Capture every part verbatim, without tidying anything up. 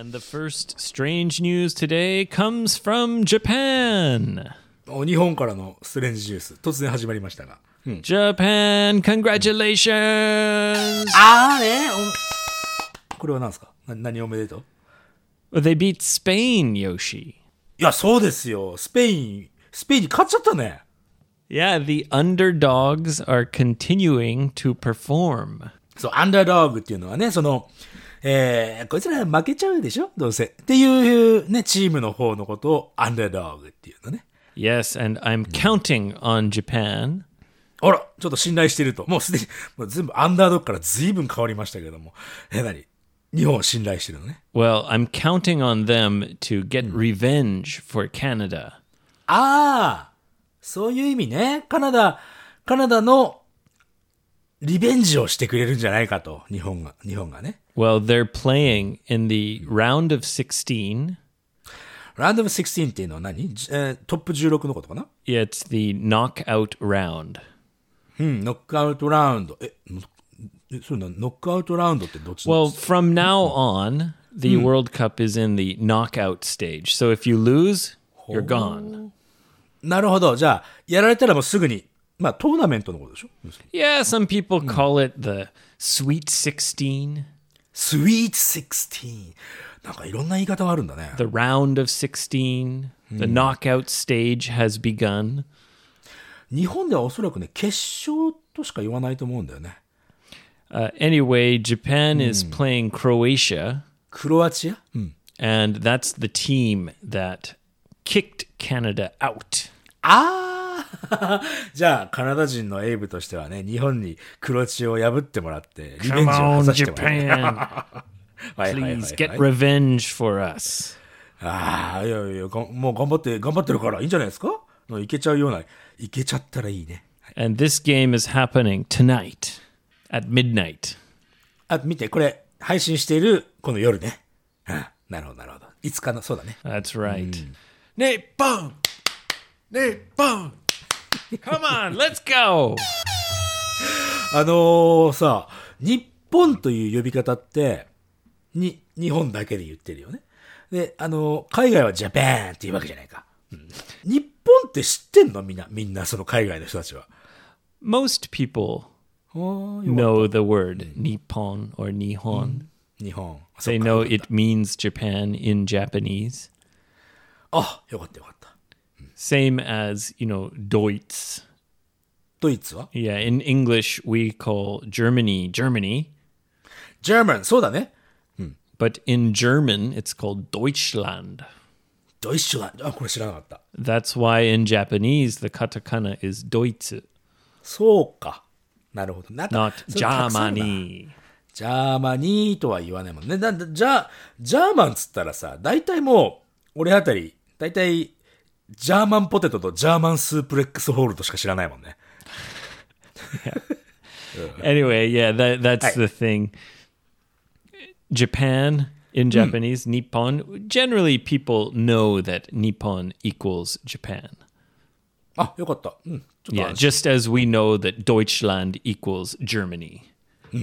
And the first strange news today comes from Japan. お日本からのストレンジニュース、突然始まりましたが。うん、 Japan, congratulations! あーねこれは何ですか？な何おめでとう？ Well, they beat Spain, Yoshi. いや、そうですよ。スペイン、スペインに勝っちゃったね。 Yeah, the underdogs are continuing to perform. そう、アンダードッグっていうのはね、その、えー、こいつら負けちゃうでしょどうせ。っていうね、チームの方のことをアンダードッグっていうのね。 Yes, and I'm counting on Japan. あら、ちょっと信頼してると。もうすでに、もう全部アンダードッグから随分変わりましたけども。え、なに？日本を信頼してるのね。 Well, I'm counting on them to get revenge for Canada. ああ、そういう意味ね。カナダ、カナダのリベンジをしてくれるんじゃないかと。日本が、日本がね。 Well, they're playing in the round of sixteen. Round of sixteen っていうのは何？えー、トップじゅうろくのことかな？ Yeah, it's the knockout round. うん、ノックアウトラウンド。え、えそうな、ノックアウトラウンドってどっち？ Well, from now on, the World Cup is in the knockout stage. So if you lose, you're gone. なるほど。じゃあ、やられたらもうすぐに、まあトーナメントのことでしょ？ Yeah, some people call it the Sweet sixteen. Sweet sixteen。なんかいろんな言い方があるんだね。 The round of sixteen. The knockout stage has begun. 日本ではおそらくね、決勝としか言わないと思うんだよね。 Uh, anyway, Japan is playing Croatia. クロアチア？うん。 And that's the team that kicked Canada out. ああじゃあ、カナダ人のエイブとしてはね、日本にクロアチアを破ってもらって、リベンジを果たしてもらって。 Please get revenge for us. ああ、いやいや、もう頑張って、頑張ってるからいいんじゃないですか？いけちゃうような、いけちゃったらいいね。 And this game is happening tonight at midnight. あ、見て、これ、配信している、この夜ね。あ、なるほど、なるほど。いつかの、そうだね。 That's right. 日本! 日本! Come on, let's go! あのー、さ、日本という呼び方って、に、日本だけで言ってるよね。で、あのー、海外はジャパンっていうわけじゃないか。うん、日本って知ってんの？みんな、みんなその海外の人たちは。 Most people know the word Nippon or Nihon. 日本。 They know it means Japan in Japanese. あ、よかったよかった。 Same as, you know, Deutsch. ドイツは？ Yeah, in English we call Germany Germany. German, そうだね。 But in German it's called Deutschland. ドイツランド。あ、これ知らなかった。 That's why in Japanese the katakana is Deutsch. そうか。なるほど。なんか Not Germany. ジャーマニーとは言わないもんね。だじゃあ、ジャーマンつったらさ、大体もう、俺あたり、大体、ジャーマンポテトとジャーマンスープレックスホールドしか知らないもんね。 Anyway, yeah, that, that's the thing. Japan in Japanese, Nippon. Generally, people know that Nippon equals Japan. あ、よかった。うん。 Yeah, just as we know that Deutschland equals Germany. うん。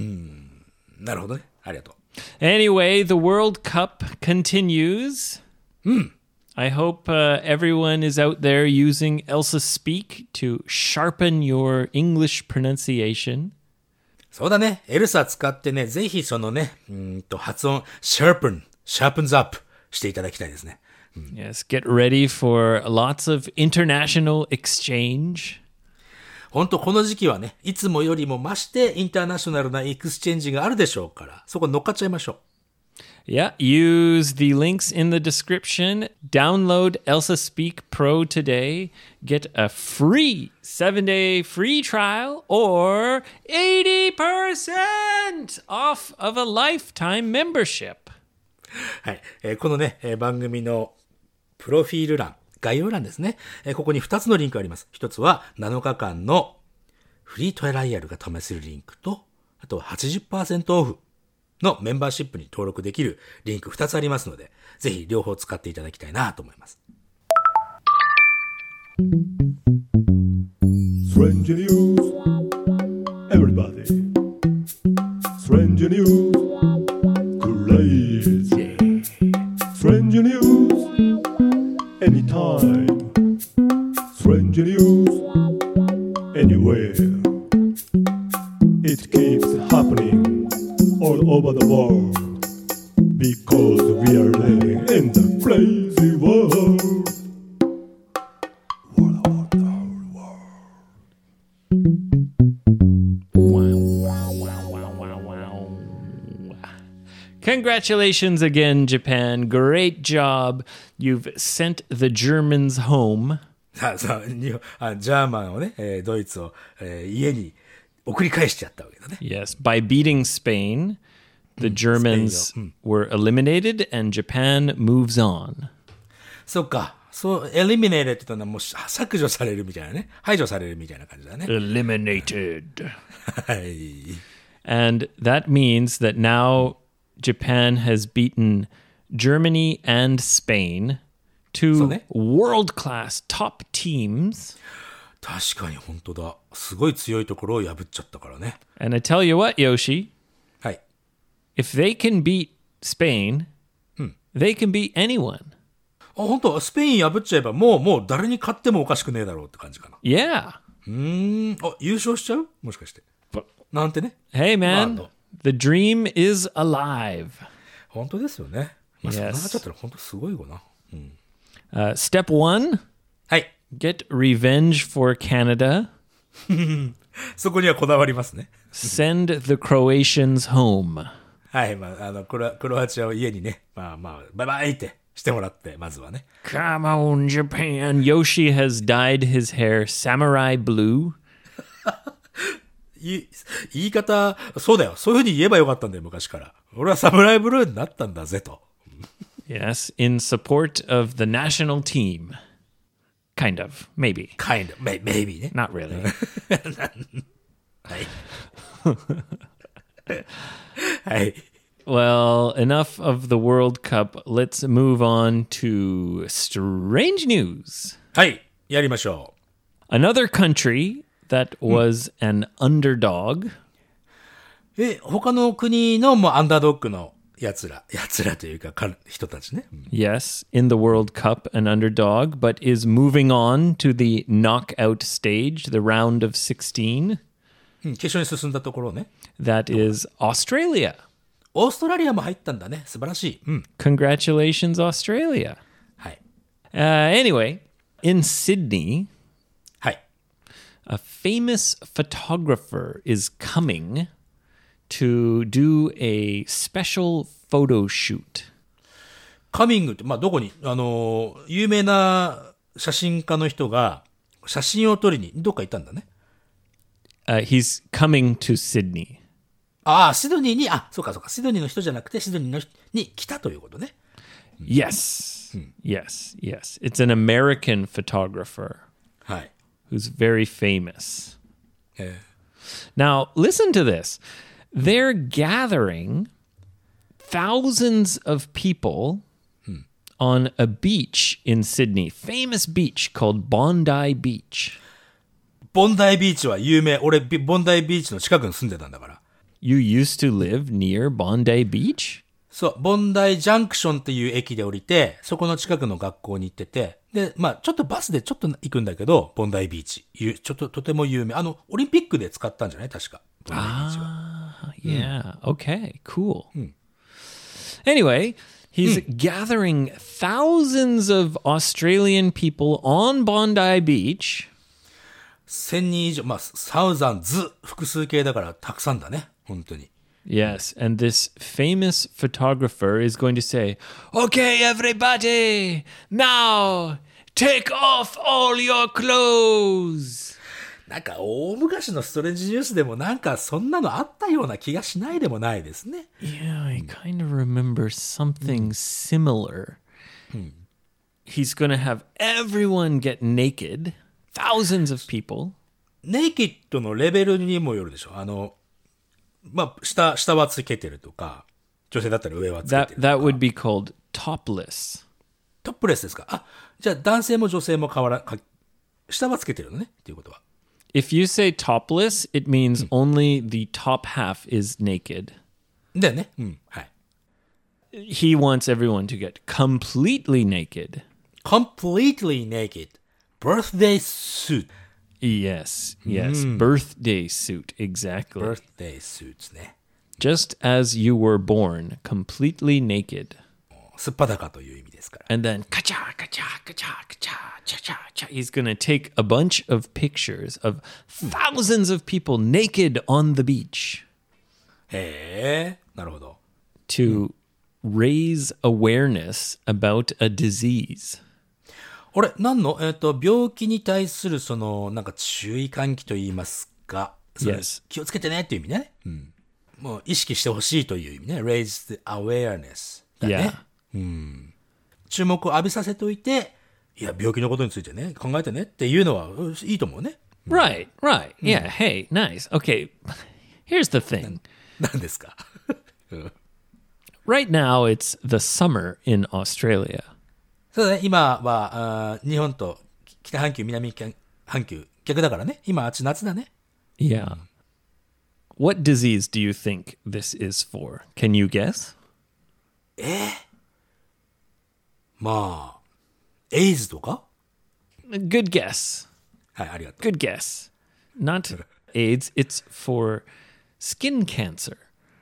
なるほどね。ありがとう。 Anyway, the World Cup continues. うん。 I hope uh, everyone is out there using Elsa Speak to sharpen your English pronunciation. そうだね。エルサ使ってね、ぜひそのね、うんと発音、sharpen, sharpens up していただきたいですね。うん、 Yes, get ready for lots of international exchange. 本当この時期はね、いつもよりも増してインターナショナルなエクスチェンジがあるでしょうから、そこ乗っかっちゃいましょう。 Yeah, use the links in the description. Download Elsa Speak Pro today. Get a free seven-day free trial or eighty percent off of a lifetime membership. はい、えー、このね、えー、番組のプロフィール欄、概要欄ですね。えー、ここにふたつのリンクあります。ひとつはなのかかんのフリートライアルが試せるリンクと、あとは はちじゅっパーセント オフのメンバーシップに登録できるリンクふたつありますので、ぜひ両方使っていただきたいなと思います。 Strange news, everybody. Strange news, crazy. Because we are living in the crazy world. What about the whole world? Wow, wow, wow, wow, wow, wow. Congratulations again, Japan. Great job. You've sent the Germans home. さあさあ、日本あジャーマンをね、えードイツを、えー家に送り返しちゃったわけだね。 Yes, by beating Spain, the Germans were eliminated and Japan moves on. そっか。そう、エリミネーレって言ったのはもう削除されるみたいなね。排除されるみたいな感じだね。 Eliminated. はい。 And that means that now Japan has beaten Germany and Spain, two そうね。 world-class top teams. 確かに本当だ。すごい強いところを破っちゃったからね。 And I tell you what, Yoshi, はい。 if they can beat Spain, they can beat anyone. あ、本当スペイン破っちゃえばもう、もう誰に勝ってもおかしくねえだろうって感じかな。 Yeah. うーん。あ、優勝しちゃうもしかして。なんてね。 Hey, man, Wow. the dream is alive. 本当ですよね。まあ、 Yes. そうなっちゃったら本当すごいよな。 Uh, step one, はい。 get revenge for Canada. そこにはこだわりますね。 Send the Croatians home. はい。まあ、あの、クロクロアチアを家にね、まあまあ、バイバイってしてもらって、まずはね。 Come on, Japan. Yoshi has dyed his hair samurai blue. い言い方、そうだよ。そういうふうに言えばよかったんだよ、昔から。俺はサムライブルーになったんだぜと。 Yes, in support of the national team. Kind of, maybe. kind of, may- maybe ね。 Not really. はい。はい。 Well, enough of the World Cup. Let's move on to strange news. はい。やりましょ Another country that was an underdog. う。え、他の国のもうアンダードッグの奴ら、奴らというか、か人たちね。うん Yes, in the World Cup, an underdog, but is moving on to the knockout stage, the round of sixteen. うん決勝に進んだところね。 That is Australia. オーストラリアも入ったんだね。素晴らしい。うん。 Congratulations, Australia. はい。 Uh, anyway, in Sydney, はい。 a famous photographer is coming to do a special photo shoot. カミングって、まあ、どこに、あのー、有名な写真家の人が写真を撮りにどっか行ったんだね。 Uh, he's coming to Sydney. ああ、シドニーに、あ、そうかそうか、シドニーの人じゃなくて、シドニーの人に来たということね。 Yes. Yes, yes. It's an American photographer はい。 who's very famous. え Now, listen to this. They're gathering thousands of people on a beach in Sydney, famous beach called Bondi Beach. ーボンダイビーチは有名。俺、ビボンダイビーチの近くに住んでたんだから。 You used to live near Bondi Beach? そう、ボンダイジャンクションっていう駅で降りて、そこの近くの学校に行ってて、で、まあちょっとバスでちょっと行くんだけど、ボンダイビーチ。ゆちょっととても有名。あの、オリンピックで使ったんじゃない確か。ボンダイビーチは。 Yeah. Okay. Cool. Anyway, he's gathering thousands of Australian people on Bondi Beach 千人以上、まあ、サウザンズ、複数形だからたくさんだね。本当に。 Yes, and this famous photographer is going to say, "Okay, everybody, now take off all your clothes." なんか大昔のストレンジニュースでもなんかそんなのあったような気がしないでもないですね。 Yeah, I kind of remember something similar. He's going to have everyone get naked, thousands of people. ネイキッドのレベルにもよるでしょ。あの、まあ、下、下はつけてるとか、女性だったら上はつけ That てるとか。 that would be called topless. トップレスですか。あ、じゃあ男性も女性も変わら、か下はつけてるのねっていうことは。 If you say topless, it means only the top half is naked. だよね。うん。はい。 He wants everyone to get completely naked. completely naked. birthday suit. Yes, yes. Birthday suit, exactly. birthday suits ね。 just as you were born, completely naked. すっぱだかという意味ですから。 And then, ka-cha, ka-cha, ka-cha, ka-cha, cha-cha, cha. He's going to take a bunch of pictures of thousands of people naked on the beach へえ、なるほど。 to raise awareness about a disease. あれ、何のえっ、と、病気に対するその、なんか注意喚起と言いますか。それ Yes. 気をつけてねっていう意味ね。うん。もう意識してほしいという意味ね。raise the awareness だね。 Yeah. 注目を浴びさせておいて、いや、病気のことについてね、考えてねっていうのはうんいいと思うね。 Right, right. Yeah, hey, nice. Okay, here's the thing. 何ですか Right now, it's the summer in Australia. そうだね、今は、あー日本と北半球、南半球、逆だからね。今、あっち夏だね。 Yeah. What disease do you think this is for? Can you guess? まあ、エイズとか Good guess. はい、ありがとう。 Good guess. Not AIDS, it's for skin cancer.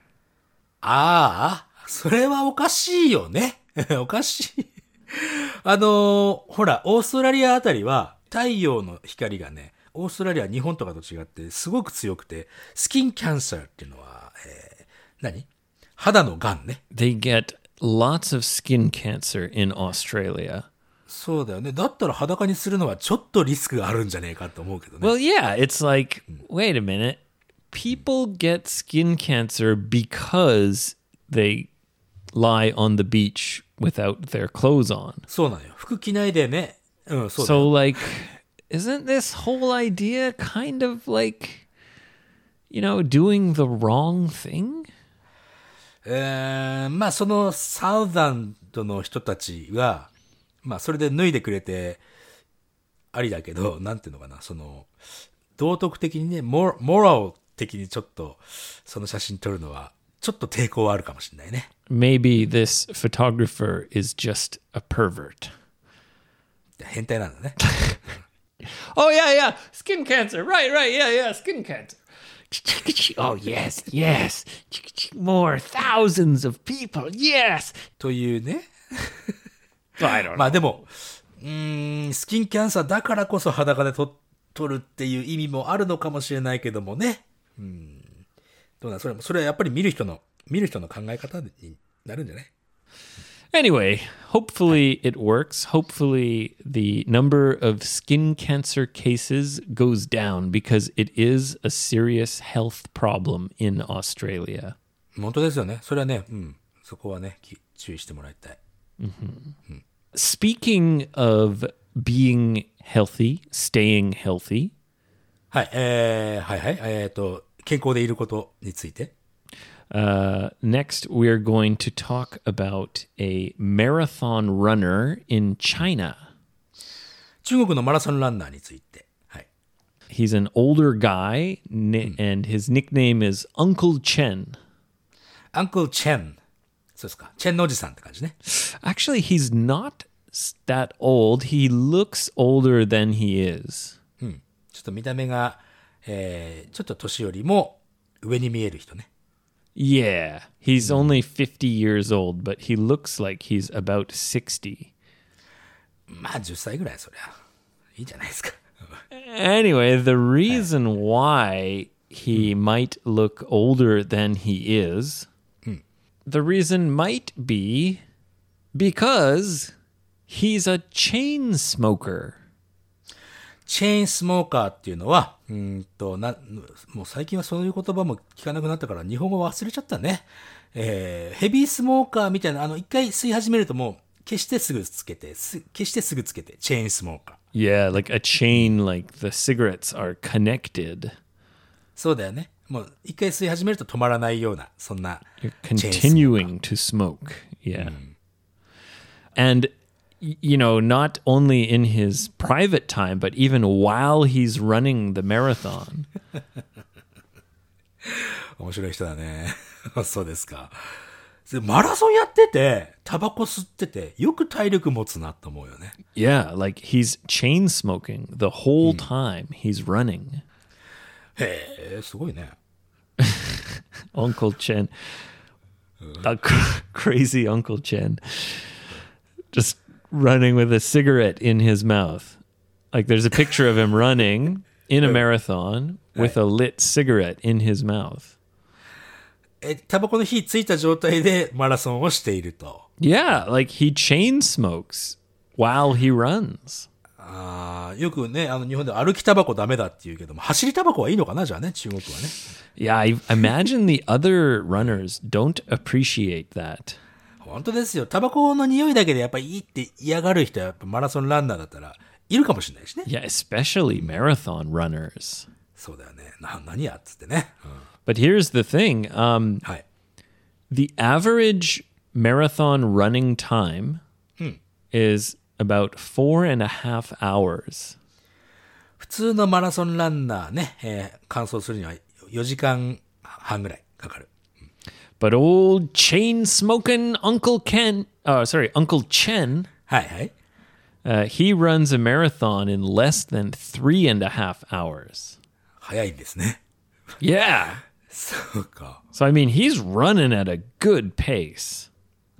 ああ、それはおかしいよね。おかしい。あのーほら、オーストラリアあたりは、太陽の光がね、オーストラリアは日本とかと違って、すごく強くて、スキンキャンサーっていうのは、えー、何肌の癌ね。 They get lots of skin cancer in Australia. そうだよね。だったら裸にするのはちょっとリスクがあるんじゃねえかと思うけどね。 Well, yeah, it's like, wait a minute. People get skin cancer because they lie on the beach without their clothes on. そうなのよ。服着ないでね。うん、そうだよ。 So, like, isn't this whole idea kind of like, you know, doing the wrong thing? えー、まあそのサウザンドの人たちが、まあそれで脱いでくれてありだけど、なんていうのかな、その、道徳的にね、モモラル的にちょっとその写真撮るのは、ちょっと抵抗はあるかもしれないね。 Maybe this photographer is just a pervert. 変態なんだね。 Oh, yeah, yeah. Skin cancer. Right, right. Yeah, yeah. Skin cancer. Oh, yes, yes. More thousands of people. Yes. というね。 I don't ま know. あでも、うーん、スキンキャンサーだからこそ裸で撮撮るっていう意味もあるのかもしれないけどもね。うん。どうなんそれも、それはやっぱり見る人の、見る人の考え方になるんじゃない Anyway, hopefully it works. Hopefully the number of skin cancer cases goes down because it is a serious health problem in Australia. 本当ですよね。それはね、うん。そこはね、き注意してもらいたい。 Speaking of being healthy, staying healthy, はい、えー、はいはい。えっ、と、健康でいることについて。 uh, next we're going to talk about a marathon runner in China. 中国のマラソンランナーについて。はい。 He's an older guy, ni- and his nickname is Uncle Chen. アンクルチェン。そうですか。チェンのおじさんって感じね。 Actually, he's not s- that old. He looks older than he is. ちょっと見た目が、えー、ちょっと年よりも上に見える人ね。 Yeah, he's only fifty years old, but he looks like he's about sixty. まあじゅっさいぐらいそりゃ。いいじゃないですか。 Anyway, the reason why he might look older than he is, the reason might be because he's a chain smoker. チェーンスモーカーっていうのは、うーんと、な、もう最近はそういう言葉も聞かなくなったから日本語忘れちゃったね。えー、ヘビースモーカーみたいな、あの、一回吸い始めるともう、消してすぐつけて、す消してすぐつけて、チェーンスモーカー。 Yeah, like a chain, like the cigarettes are connected. そうだよね。もう、一回吸い始めると止まらないような、そんな。 You're チェーンスモーカー continuing to smoke. Yeah. And, y- you know, not only in his private time, but even while he's running the marathon. 面白い人だね。そうですか。でマラソンやってて、タバコ吸ってて、よく体力持つなと思うよね。 Yeah, like he's chain smoking the whole time he's running. へえ、すごいね。 Uncle Chen. A cr- crazy Uncle Chen. Just running with a cigarette in his mouth. Like there's a picture of him running in a marathon with a lit cigarette in his mouth. え、タバコの火ついた状態でマラソンをしていると。 Yeah, like he chain smokes while he runs. ああ、よくね、あの日本では歩きタバコダメだって言うけども、走りタバコはいいのかなじゃあね、中国はね。 Yeah, I imagine the other runners don't appreciate that. 本当ですよ。タバコの匂いだけでやっぱりいいって嫌がる人はやっぱマラソンランナーだったらいるかもしれないしね。 Yeah, especially marathon runners. そうだよね。な、何やっつってね。うん、 But here's the thing. Um, はい。 the average marathon running time is about four and a half hours. 普通のマラソンランナーね、えー、完走するにはよじかんはんぐらいかかる。 But old chain smoking Uncle Ken, uh, sorry, Uncle Chen, はいはい。 uh, he runs a marathon in less than three and a half hours. 早いんですね。 Yeah. そうか。 So, I mean, he's running at a good pace.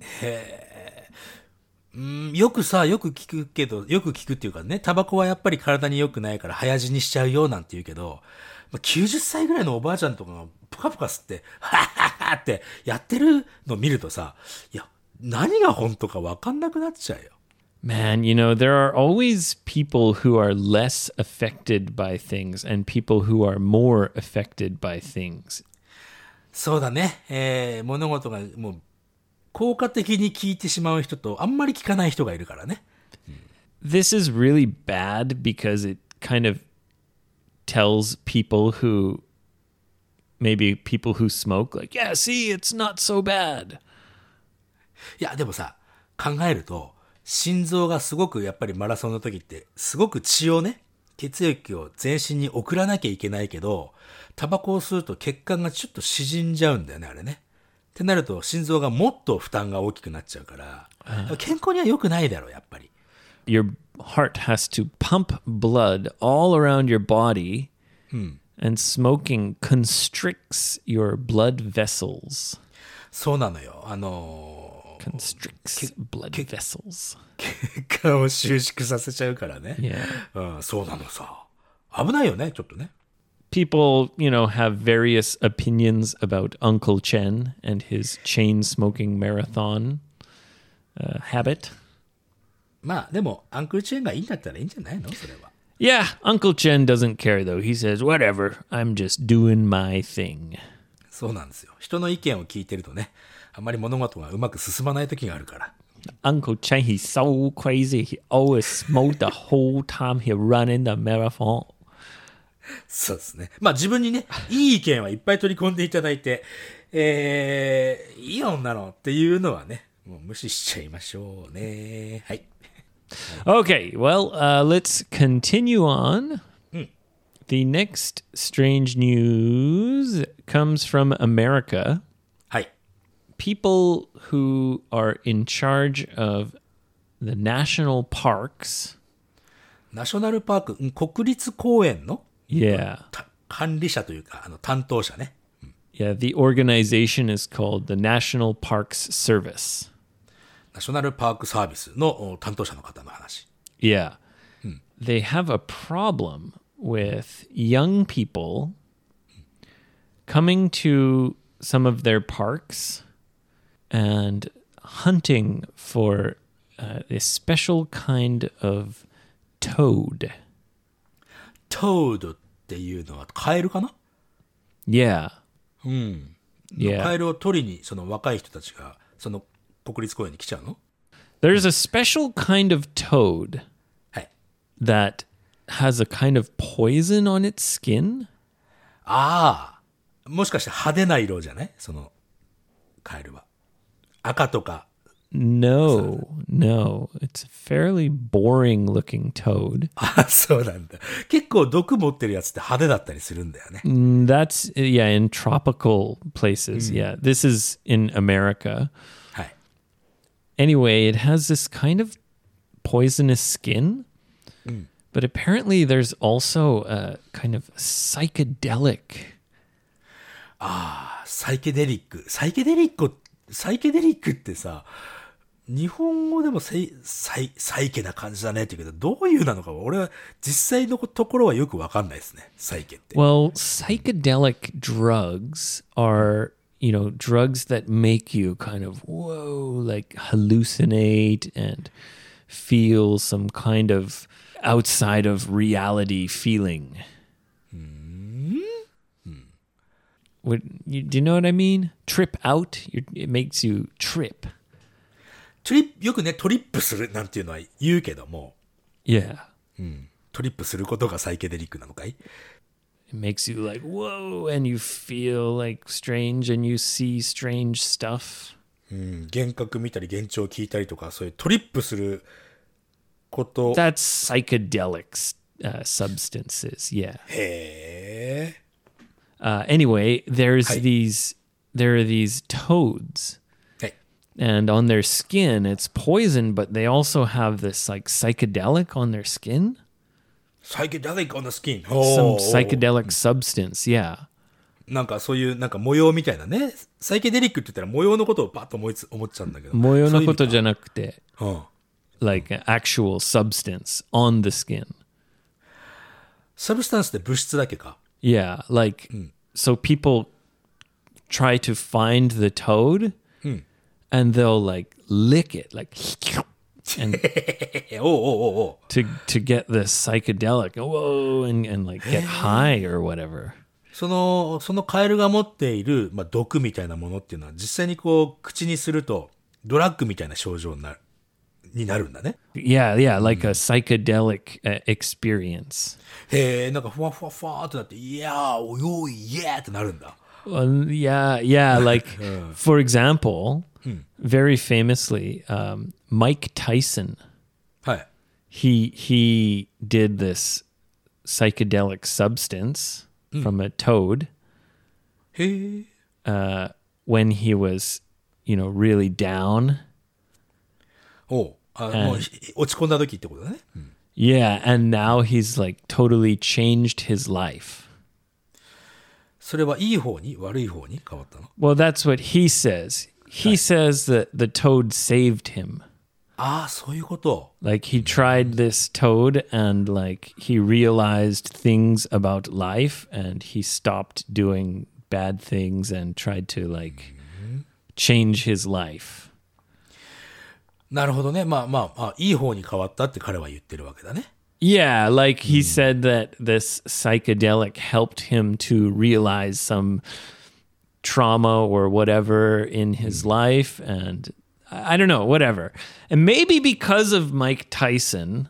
うんよくさ、よく聞くけど、よく聞くっていうかね、タバコはやっぱり体に良くないから早死にしちゃうよなんて言うけど、まあ、きゅうじゅっさいぐらいのおばあちゃんとかがプカプカ吸って、はっはっはってやってるの見るとさ、いや、何が本当か分かんなくなっちゃうよ。 Man, you know, there are always people who are less affected by things and people who are more affected by things. そうだね。えー、物事がもう、効果的に効いてしまう人とあんまり効かない人がいるからね。 This is really bad because it kind of tells people who, maybe people who smoke, like, yeah, see, it's not so bad. いや、でもさ、考えると、心臓がすごくやっぱりマラソンの時ってすごく血をね、血液を全身に送らなきゃいけないけど、タバコを吸うと血管がちょっと縮んじゃうんだよね、あれね。ってなると心臓がもっと負担が大きくなっちゃうから、健康には良くないだろう、やっぱり。 Your heart has to pump blood all around your body, and smoking constricts your blood vessels. そうなのよ。あのー、 Constricts blood vessels. 血管を収縮させちゃうからね。 Yeah. うん、そうなのさ。危ないよね、ちょっとね。 People, you know, have various opinions about Uncle Chen and his chain smoking marathon uh, habit. まあ、でも、アンクルチェーンがいいんだったらいいんじゃないのそれは。 Yeah, Uncle Chen doesn't care though. He says, whatever, I'm just doing my thing. そうなんですよ。人の意見を聞いてるとね、あまり物事がうまく進まない時があるから。 Uncle Chen, he's so crazy. He always smoked the whole time he running the marathon. そうですね。まあ自分にね、いい意見はいっぱい取り込んでいただいて、えー、いい女のっていうのはね、もう無視しちゃいましょうね。はい。 Okay, well, uh, let's continue on. The next strange news comes from America. はい。 People who are in charge of the national parks, ナショナルパーク、うん国立公園の yeah, た管理者というか、あの担当者ね。 yeah, the organization is called the National Parks Service. ナショナルパークサービスのお担当者の方の話。 Yeah. They have a problem with young people coming to some of their parks and hunting for uh, a special kind of toad. トードっていうのはカエルかな？ Yeah. カ Yeah. エルを取りにその若い人たちがその国立公園に来ちゃうの？ There's a special kind of toad はい。 that has a kind of poison on its skin. ああ、もしかして派手な色じゃない？そのカエルは。赤とか。 No, no. It's a fairly boring looking toad. あ、そうなんだ。結構毒持ってるやつって派手だったりするんだよね。 Mm, That's, yeah, in tropical places. Yeah. This is in America. はい。 Anyway, it has this kind of poisonous skin. But apparently there's also a kind of psychedelic ああ、サイケデリック。サイケデリック、サイケデリックってさ、日本語でもサイ、サイ、サイケな感じだねって言うけど、どういうなのか俺は実際のところはよくわかんないですね。サイケって。 Well, psychedelic drugs are, you know, drugs that make you kind of, whoa, like hallucinate and feel some kind of outside of reality feeling. What, you, do you know what I mean? Trip out. You're, it makes you trip. トリップ、よくね、トリップするなんていうのは言うけども、 Yeah. うん、トリップすることがサイケデリックなのかい？ It makes you like, whoa, and you feel like strange and you see strange stuff. うん、幻覚見たり幻聴聞いたりとか、そういうトリップすること。 That's psychedelic uh, substances, yeah. へー。 Uh, anyway, there's Hi. these, there are these toads. はい。 And on their skin, it's poison, but they also have this like psychedelic on their skin. サイケデリック on the skin. Some psychedelic substance, yeah. なんかそういうなんか模様みたいなね。サイケデリックって言ったら模様のことをパッと思いつ思っちゃうんだけど。 模様のことじゃなくて、 うん。 like an actual substance on the skin. サブスタンスって物質だけか。 Yeah, like so people try to find the toad and they'll like lick it like and えおうおうおうおう。 to to get this psychedelic whoa and, and like get high or whatever. その、そのカエルが持っている、まあ、毒みたいなものっていうのは実際にこう口にするとドラッグみたいな症状になる、になるんだね。 Yeah, yeah, like a psychedelic uh, experience. へえ、なんかふわふわふわーってなって、いやー、およい、イエーってなるんだ。 Well, yeah, yeah, like for example, very famously, um, Mike Tyson, はい。 he he did this psychedelic substance from a toad へえ。 uh, when he was, you know, really down. おう。あ、もうひ落ち込んだ時ってことだね。うん。 Yeah, and now he's like totally changed his life. それはいい方に悪い方に変わったの？ Well, that's what he says. He says that the toad saved him. ああ、そういうこと。 Like he tried this toad and like he realized things about life and he stopped doing bad things and tried to like change his life. なるほどね。まあまあ、あ、いい方に変わったって彼は言ってるわけだね。 Yeah, like he said that this psychedelic helped him to realize some trauma or whatever in his life and I I don't know, whatever. And maybe because of Mike Tyson,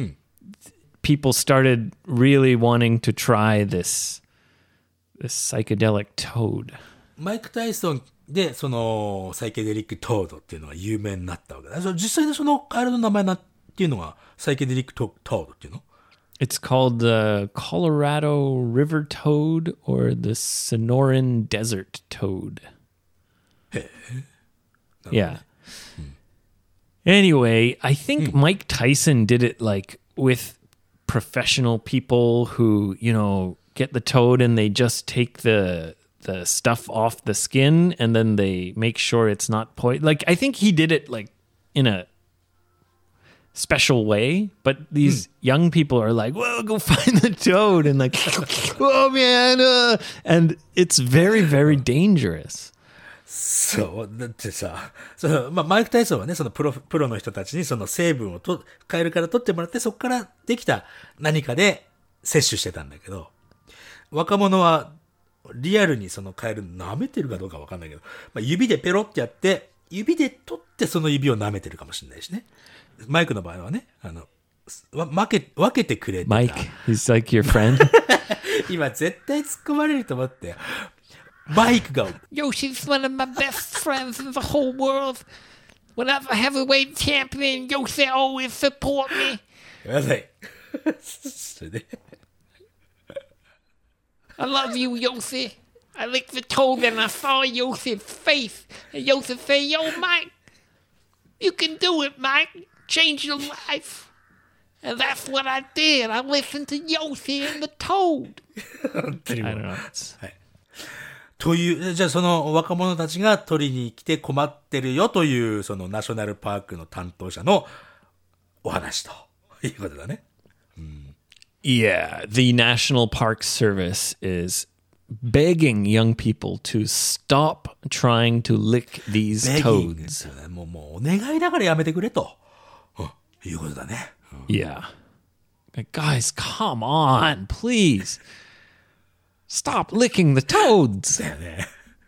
people started really wanting to try this this psychedelic toad. マイク・タイソンで、その、サイケデリック・トードっていうのが有名になったわけだ。そ実際にそのカエルの名前なっていうのが、サイケデリックト・トードっていうの？ It's called the Colorado River toad or the Sonoran Desert toad. Yeah. Anyway, I think Mike Tyson did it like with professional people who, you know, get the toad and they just take the the stuff off the skin and then they make sure it's not poison. Like I think he did it like in a special way, but these young people are like, well, go find the toad and like, oh man, uh, and it's very, very dangerous. そう。だってさ、その、まあ、マイク・タイソンはね、そのプロ、プロの人たちにその成分をと、カエルから取ってもらって、そこからできた何かで摂取してたんだけど、若者はリアルにそのカエル舐めてるかどうかわかんないけど、まあ、指でペロってやって、指で取ってその指を舐めてるかもしれないしね。マイクの場合はね、あの、わ分け、分けてくれてた。 Mike, he's like your friend. 今絶対突っ込まれると思って。マイクが、 Yoshi's one of my best friends in the whole world. Whenever heavyweight champion Yoshi always support me. ごめんなさい。それで。 I love you, Yoshi. I licked the toad and I saw Yoshi's face. And Yoshi said, yo, Mike, you can do it, Mike. Change your life. And that's what I did. I listened to Yoshi and the toad. 本当にもう I don't know. It's, という、じゃあその若者たちが取りに来て困ってるよという、そのナショナルパークの担当者のお話ということだね。 Yeah, the National Park Service is begging young people to stop trying to lick these ベギング toads. っていうねもう、もうお願いだからやめてくれと、うん、いうことだね。 Yeah. Like, guys, come on, please. Stop licking the toads. だよね。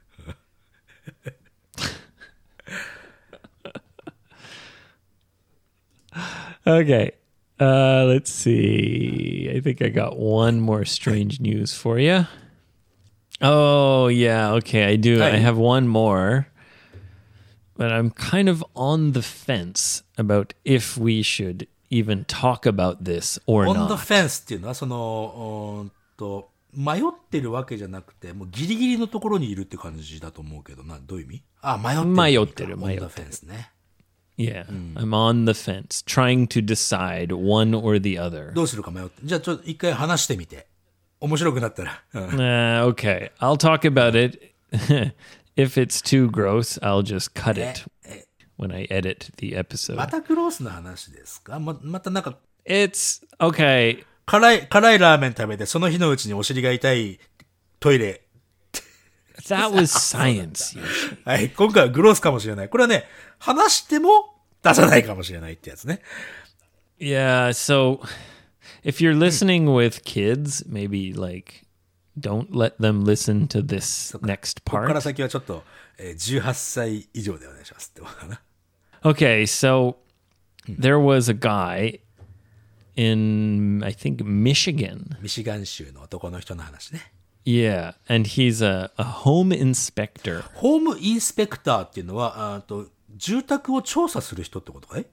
Okay. Uh, let's see. I think I got one more strange news for you. Oh, yeah. Okay, I do. I Hey. have one more. But I'm kind of on the fence about if we should even talk about this or On the not. fence っていうのは、その、うーんと、迷ってるわけじゃなくて、もうギリギリのところにいるって感じだと思うけどな、どういう意味？あ、迷ってる。 迷ってる、 On 迷 the ってる。 fence ね。 Yeah, I'm on the fence, trying to decide one or the other. どうするか迷って。じゃあちょっと一回話してみて。面白くなったら。うん Uh, okay, I'll talk about it. If it's too gross, I'll just cut it when I edit the ま episode. たクロースの話ですか？ま、またなんか、 It's okay. 辛い、辛いラーメン食べて、その日のうちにお尻が痛いトイレ。 That was science. Yoshi. はい、今回はグロースかもしれない。これはね、話しても出さないかもしれないってやつね。 Yeah, so if you're listening with kids, maybe like don't let them listen to this next ここから part. 先はちょっと、えーじゅうはっさい以上でお願いしますってことかな。 Okay, so there was a guy in, I think, Michigan. ミシガン州の男の人の話ね。 Yeah, and he's a, a home inspector. ホームインスペクターっていうのは、あと住宅を調査する人ってことかい？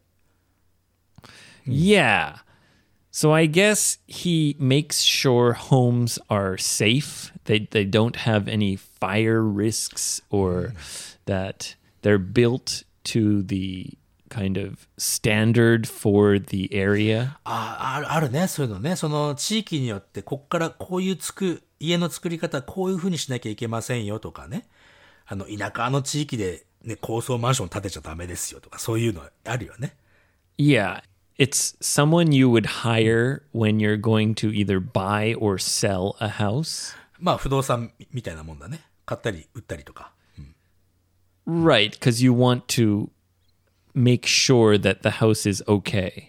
Yeah. So I guess he makes sure homes are safe. They they don't have any fire risks or that they're built to the kind of standard for the area. ああ、あるね、そういうのね。その地域によって、こっからこういうつく、家の作り方、こういう風にしなきゃいけませんよとかね。あの、田舎の地域でね、高層マンション建てちゃダメですよとか、そういうのあるよね。 Yeah. It's someone you would hire when you're going to either buy or sell a house. まあ、不動産みたいなもんだね。買ったり売ったりとか。 Right, because you want to make sure that the house is okay.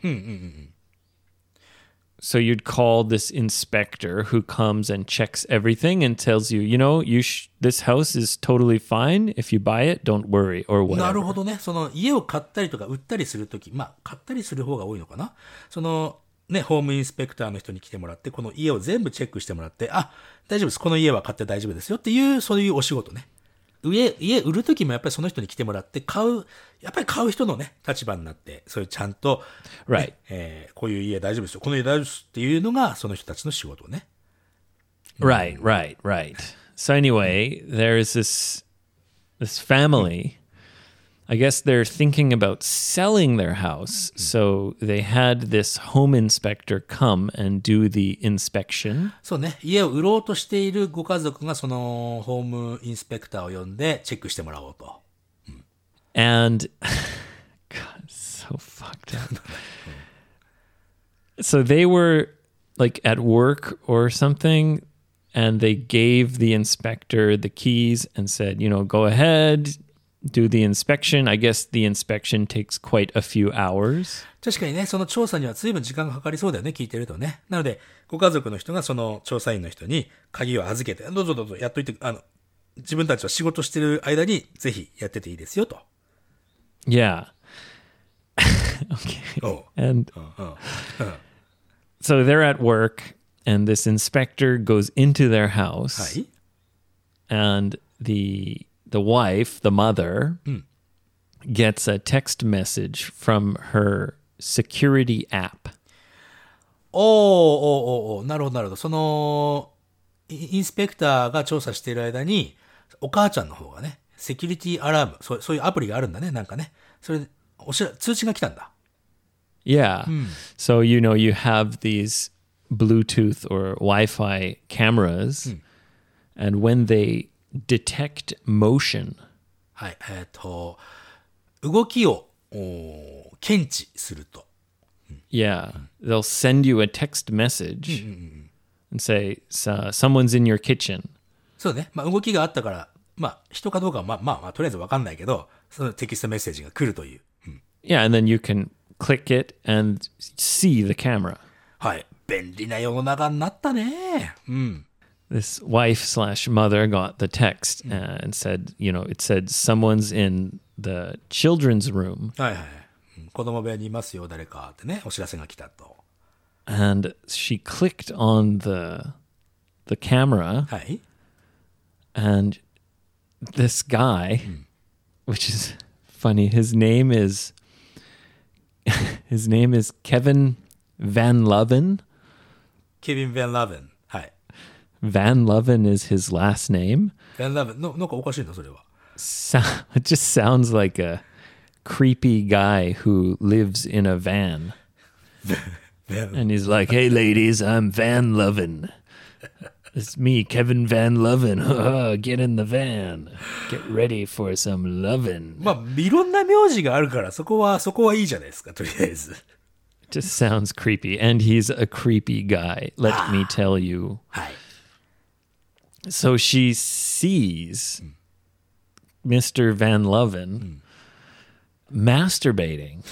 So you'd call this inspector who comes and checks everything and tells you, you know, you sh- this house is totally fine. If you buy it, don't worry or なる whatever. ほどね。その家を買ったりとか売ったりするとき、まあ、買ったりする方が多いのかな。その、ね、ホームインスペクターの人に来てもらって、この家を全部チェックしてもらって、あ、大丈夫です。この家は買って大丈夫ですよっていう、そういうお仕事ね。家、家売るときもやっぱりその人に来てもらって、買う、やっぱり買う人のね、立場になって、そういうちゃんと、ね Right. えーこういう家大丈夫ですよ。この家大丈夫ですっていうのが、その人たちの仕事ね。 Right, right, right. So anyway, there's this this family. I guess they're thinking about selling their house. So they had this home inspector come and do the inspection. そうね。家を売ろうとしているご家族が、その、ホームインスペクターを呼んで、チェックしてもらおうと。 And God, it's so fucked up. So they were like at work or something, and they gave the inspector the keys and said, you know, go ahead, do the inspection. I guess the inspection takes quite a few hours. 確かにね、その調査には随分時間がかかりそうだよね、聞いてるとね。なので、ご家族の人がその調査員の人に鍵を預けて、どうぞどうぞやっといて、あの、自分たちは仕事してる間にぜひやってていいですよと。 Yeah. Okay. おう And so they're at work, and this inspector goes into their は house, い。 and the the wife, the mother, gets a text message from her security app. おーおーおーおーなるほどなるほど。その、イインスペクターが調査している間に、お母ちゃんの方がね、セキュリティアラーム、そうそういうアプリがあるんだね、なんかね。それで、おしら、通知が来たんだ。 Yeah. So, you know, you have these Bluetooth or Wi-Fi cameras, and when they detect motion. はい、えっ、と、動きをお検知すると。 Yeah, they'll send you a text message and say, "So- someone's in your kitchen." そうね。まあ、動きがあったから、まあ、人かどうかは、まあ、まあ、まあ、とりあえずわかんないけど、そのテキストメッセージが来るという。 Yeah, and then you can click it and see the camera. はい。便利な世の中になったね。うん。 This wife slash mother got the text uh, and said, you know, it said someone's in the children's room. はいはい。うん子供部屋にいますよ、誰かってね、お知らせが来たと。 And she clicked on the the camera, はい。 and this guy, which is funny, his name is his name is Kevin Van Loven. ケビン・ヴェン・ラベン。はい。 Van Loven is his last name. ヴェン・ラベン。の、なんかおかしいのそれは。 So, it just sounds like a creepy guy who lives in a van. And he's like, "Hey, ladies, I'm Van Loven. It's me, Kevin Van Loven. Get in the van. Get ready for some lovin'." まあ、いろんな名字があるから、そこは、そこはいいじゃないですか、とりあえず。 Just sounds creepy. And he's a creepy guy, let me tell you. はい。 So she sees Mister Van Loven masturbating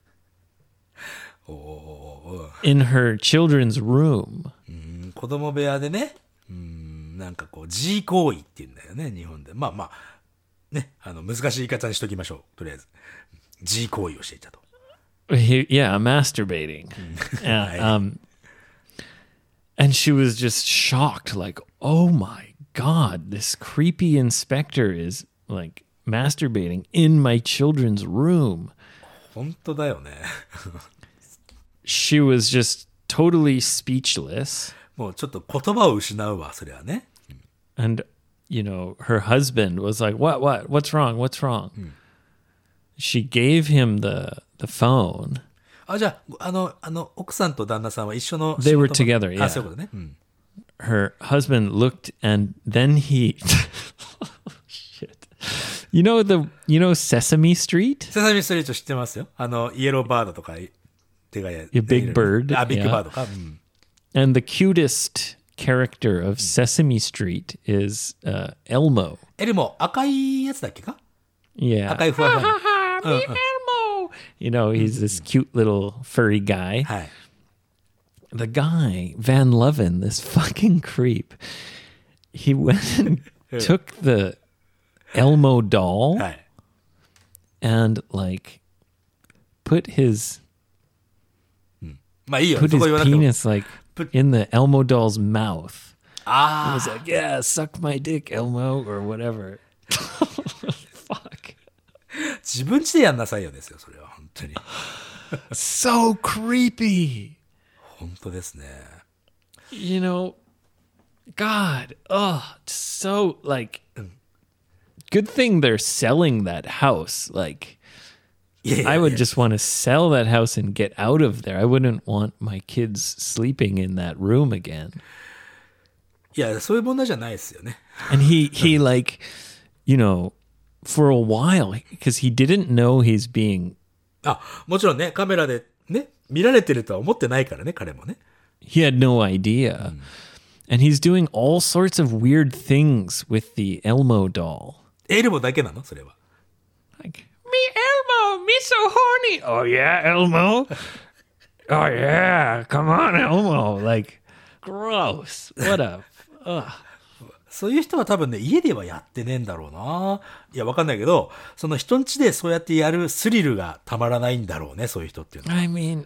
in her children's room. うん子供部屋でね、うんなんかこう、G 行為って言うんだよね、日本で。まあまあ、ね、あの、難しい言い方にしときましょう、とりあえず。G 行為をしていたと。 He, yeah, masturbating. Uh, um, and she was just shocked, like, "Oh my God, this creepy inspector is like masturbating in my children's room." 本当だよね。 She was just totally speechless. もうちょっと言葉を失うわ、それはね。 And, you know, her husband was like, "What, what, what's wrong? What's wrong?" She gave him the, the phone. あ、じゃあ、あの、あの、奥さんと旦那さんは一緒の They 仕 were 事場 together, yeah. あ、そういうことね。うん。 Her husband looked and then he oh, shit. You know the you know Sesame Street? セサミストリート知ってますよ。あの、イエローバードとか、手がや。 Yeah, Big Bird, あ、ビッグ yeah. バードか。うん。 And the cutest character of Sesame Street is uh, Elmo. エルモ、赤いやつだっけか Yeah. 赤いふわふわの。 Me Elmo. You know, he's this cute little furry guy. はい。 The guy, Van Loven, this fucking creep, he went and took the Elmo doll はい。 and like put his まあいいよ。 put そこ his 言わなくても。 penis like Put- in the Elmo doll's mouth. He あ was like, "Yeah, suck my dick, Elmo," or whatever. Fuck. あ、自分家でやんなさいよですよ、それは。本当に。 So creepy. 本当ですね。 You know, God, oh, so like good thing they're selling that house. Like いやいやいや I would just want to sell that house and get out of there. I wouldn't want my kids sleeping in that room again. いや、そういう問題じゃないですよね。 And he he like, you know, for a while because he didn't know he's being あ、もちろんね、カメラでね、見られてるとは思ってないからね、彼もね。 he had no idea. And he's doing all sorts of weird things with the Elmo doll. エルモだけなのそれは。 Like, me Elmo, me so horny. Oh yeah, Elmo. Oh yeah, come on, Elmo. Like, gross. What a. Ugh. そういう人は多分ね、家ではやってねえんだろうな。いや、わかんないけど、その人ん家でそうやってやるスリルがたまらないんだろうね、そういう人っていうのは。 I mean,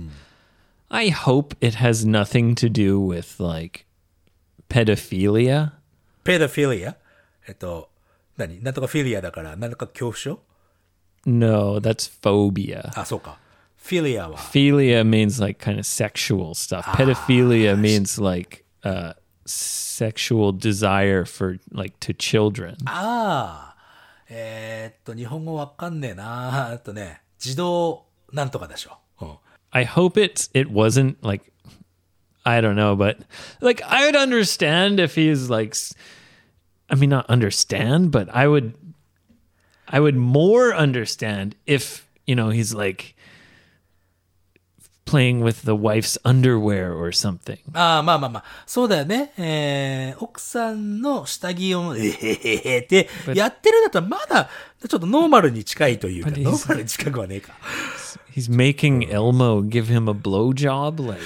I hope it has nothing to do with like pedophilia. ペドフィリアえっと、何なんとかフィリアだから、なんとか恐怖症 No, that's phobia. あ、そうか。フィリアは、 Philia means like kind of sexual stuff. Pedophilia means like uh, sexual desire for like to children. ああ、えーっと、日本語わかんねえな。えっとね、児童なんとかでしょ。うん。 I hope it's it wasn't like I don't know, but like I would understand if he's like s- I mean, not understand, but I would, I would more understand if, you know, he's like playing with the wife's underwear or something. ああ、まあまあまあ。そうだよね。えー、奥さんの下着を、えへへへってやってるんだったらまだちょっとノーマルに近いというか、 But he's- ノーマルに近くはねえか。 He's making Elmo give him a blowjob. Like,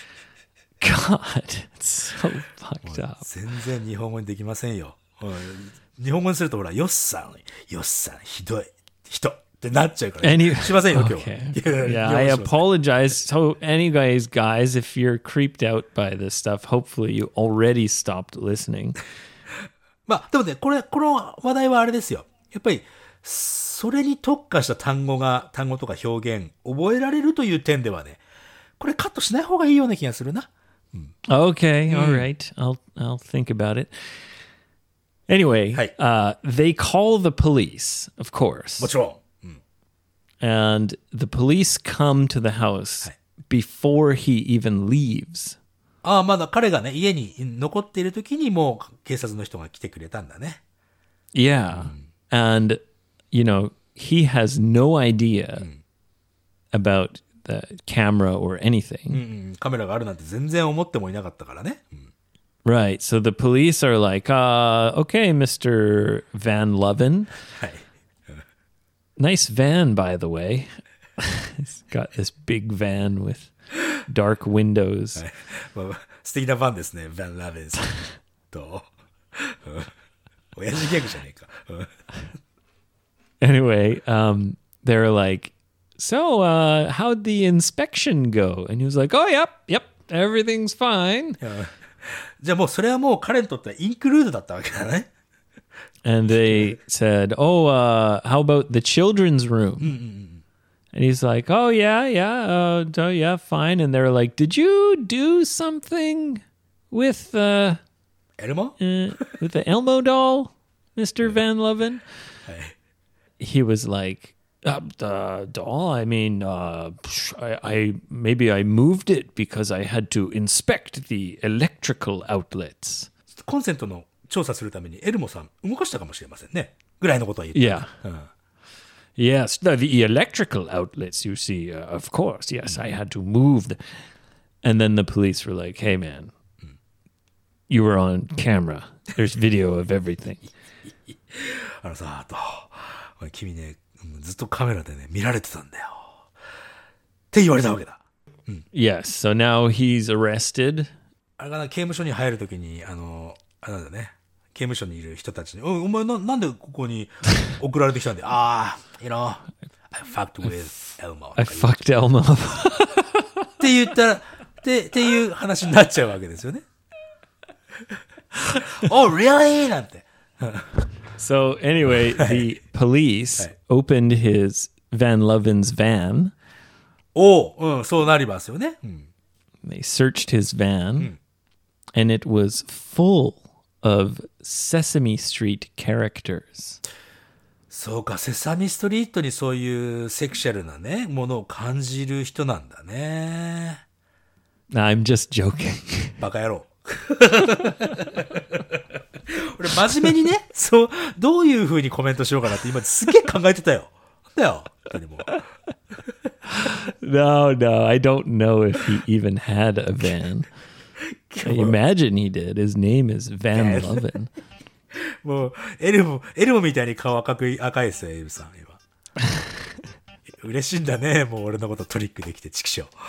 God, it's so fucked up. 全然日本語にできませんよ。うん日本語にするとほら、よっさん、よっさん、ひどい、人ってなっちゃうから。 Any- しませんよ、今日は。 Okay. いや Yeah, I 日本語しません apologize. So, anyways, guys, if you're creeped out by this stuff, hopefully you already stopped listening. まあ、でもね、これ、この話題はあれですよ。やっぱり、それに特化した単語が、単語とか表現、覚えられるという点ではね、これカットしない方がいいような気がするな。 Okay, all right. I'll I'll think about it. Anyway, Hey. uh, they call the police, of course, もちろん。 and the police come to the house before he even leaves. ああ、まだ彼がね、家に残っている時にもう警察の人が来てくれたんだね。 Yeah, and you know he has no idea about the camera or anything. うん、カメラがあるなんて全然思ってもいなかったからね。うん Right. So the police are like, uh, okay, Mister Van Loven. はい。 Nice van, by the way. He's got this big van with dark windows. まあ素敵なファンですね、ヴァン・ラベンさんと。うん親父ギャグじゃねえか。うん Anyway, um, they're like, so uh, how'd the inspection go? And he was like, oh, yep, yep, everything's fine. じゃあもうそれはもう彼にとってはインクルードだったわけだね。 And they said, oh, uh, how about the children's room? And he's like, oh, yeah, yeah, uh, oh, yeah, fine. And they're like, did you do something with, uh, エルモ uh, with the Elmo doll, Mister Van Loven? はい He was like, uh, the doll? I mean, uh, I, I maybe I moved it because I had to inspect the electrical outlets. コンセントの調査するためにエルモさん動かしたかもしれませんね。ぐらいのことは言って。 Yeah. Yes, the, the electrical outlets, you see, uh, of course. Yes, I had to move. The... And then the police were like, hey, man, you were on camera. There's video of everything. あのさ、と、おい君ね、うんずっとカメラでね、見られてたんだよ。って言われたわけだ。 Yes, so now he's arrested. あれかな、刑務所に入るときに、あの、あれなんだね、刑務所にいる人たちに、おお前な、なんでここに送られてきたんだよ。ああ、you know, I fucked with Elmo. I fucked Elmo. って言ったら、って、っていう話になっちゃうわけですよね。oh, really? なんて。 So anyway, the police opened his Van Loven's van. おう、うん、そうなりますよね。うん They searched his van, and it was full of Sesame Street characters. そうか、セサミストリートにそういうセクシャルなね、ものを感じる人なんだね。 I'm just joking. バカ野郎。俺真面目にね、そう、どういう風にコメントしようかなって今すげえ考えてたよ。だよ。本当にもう No, no, I don't know if he even had a van. I imagine he did. His name is Van Loven. もう、エルモ、エルモみたいに顔赤く、赤いですよ、エルさん、今。嬉しいんだね、もう俺のことトリックできて、チキショー。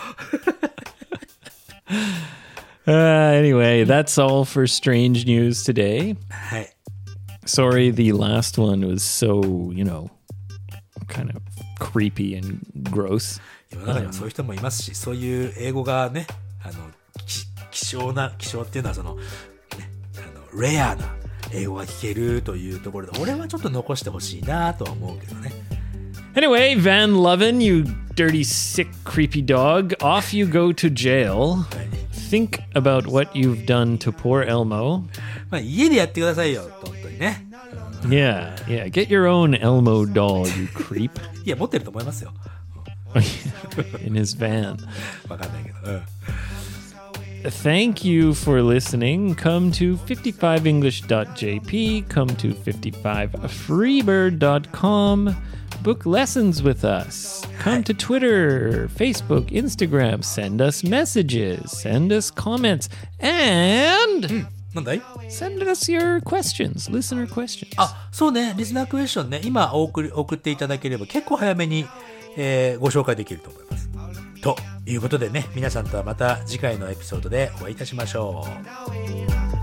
Uh, anyway, that's all for strange news today. はい。 Sorry, the last one was so, you know, kind of creepy and gross. 世の中にはそういう人もいますし、そういう英語がね、あの、き希少な、希少っていうのはその、ね、あの、レアな英語が聞けるというところで、俺はちょっと残してほしいなとは思うけどね。 Anyway, Van Loven, you dirty, sick, creepy dog, off you go to jail. Think about what you've done to poor Elmo. まあ、家でやってくださいよ、本当にね。 Yeah, yeah. Get your own Elmo doll, you creep. いや、持ってると思いますよ。 In his van. わかんないけど。うん。 thank you for listening. Come to fifty-five english dot j p, come to fifty-five freebird dot com, book lessons with us. Come to Twitter, Facebook, Instagram, send us messages, send us comments, and なんだい send us your questions, listener questions. あ、そうね、リスナークエスチョンね、今お送り送っていただければ結構早めに、えーご紹介できると思います。ということでね、皆さんとはまた次回のエピソードでお会いいたしましょう。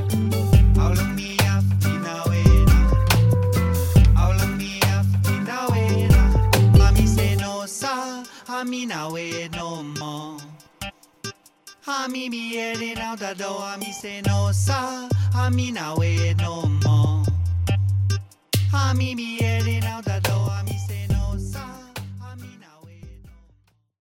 はみなえのもはみみえりなだどはみせのさはみなえのもはみみえりなだど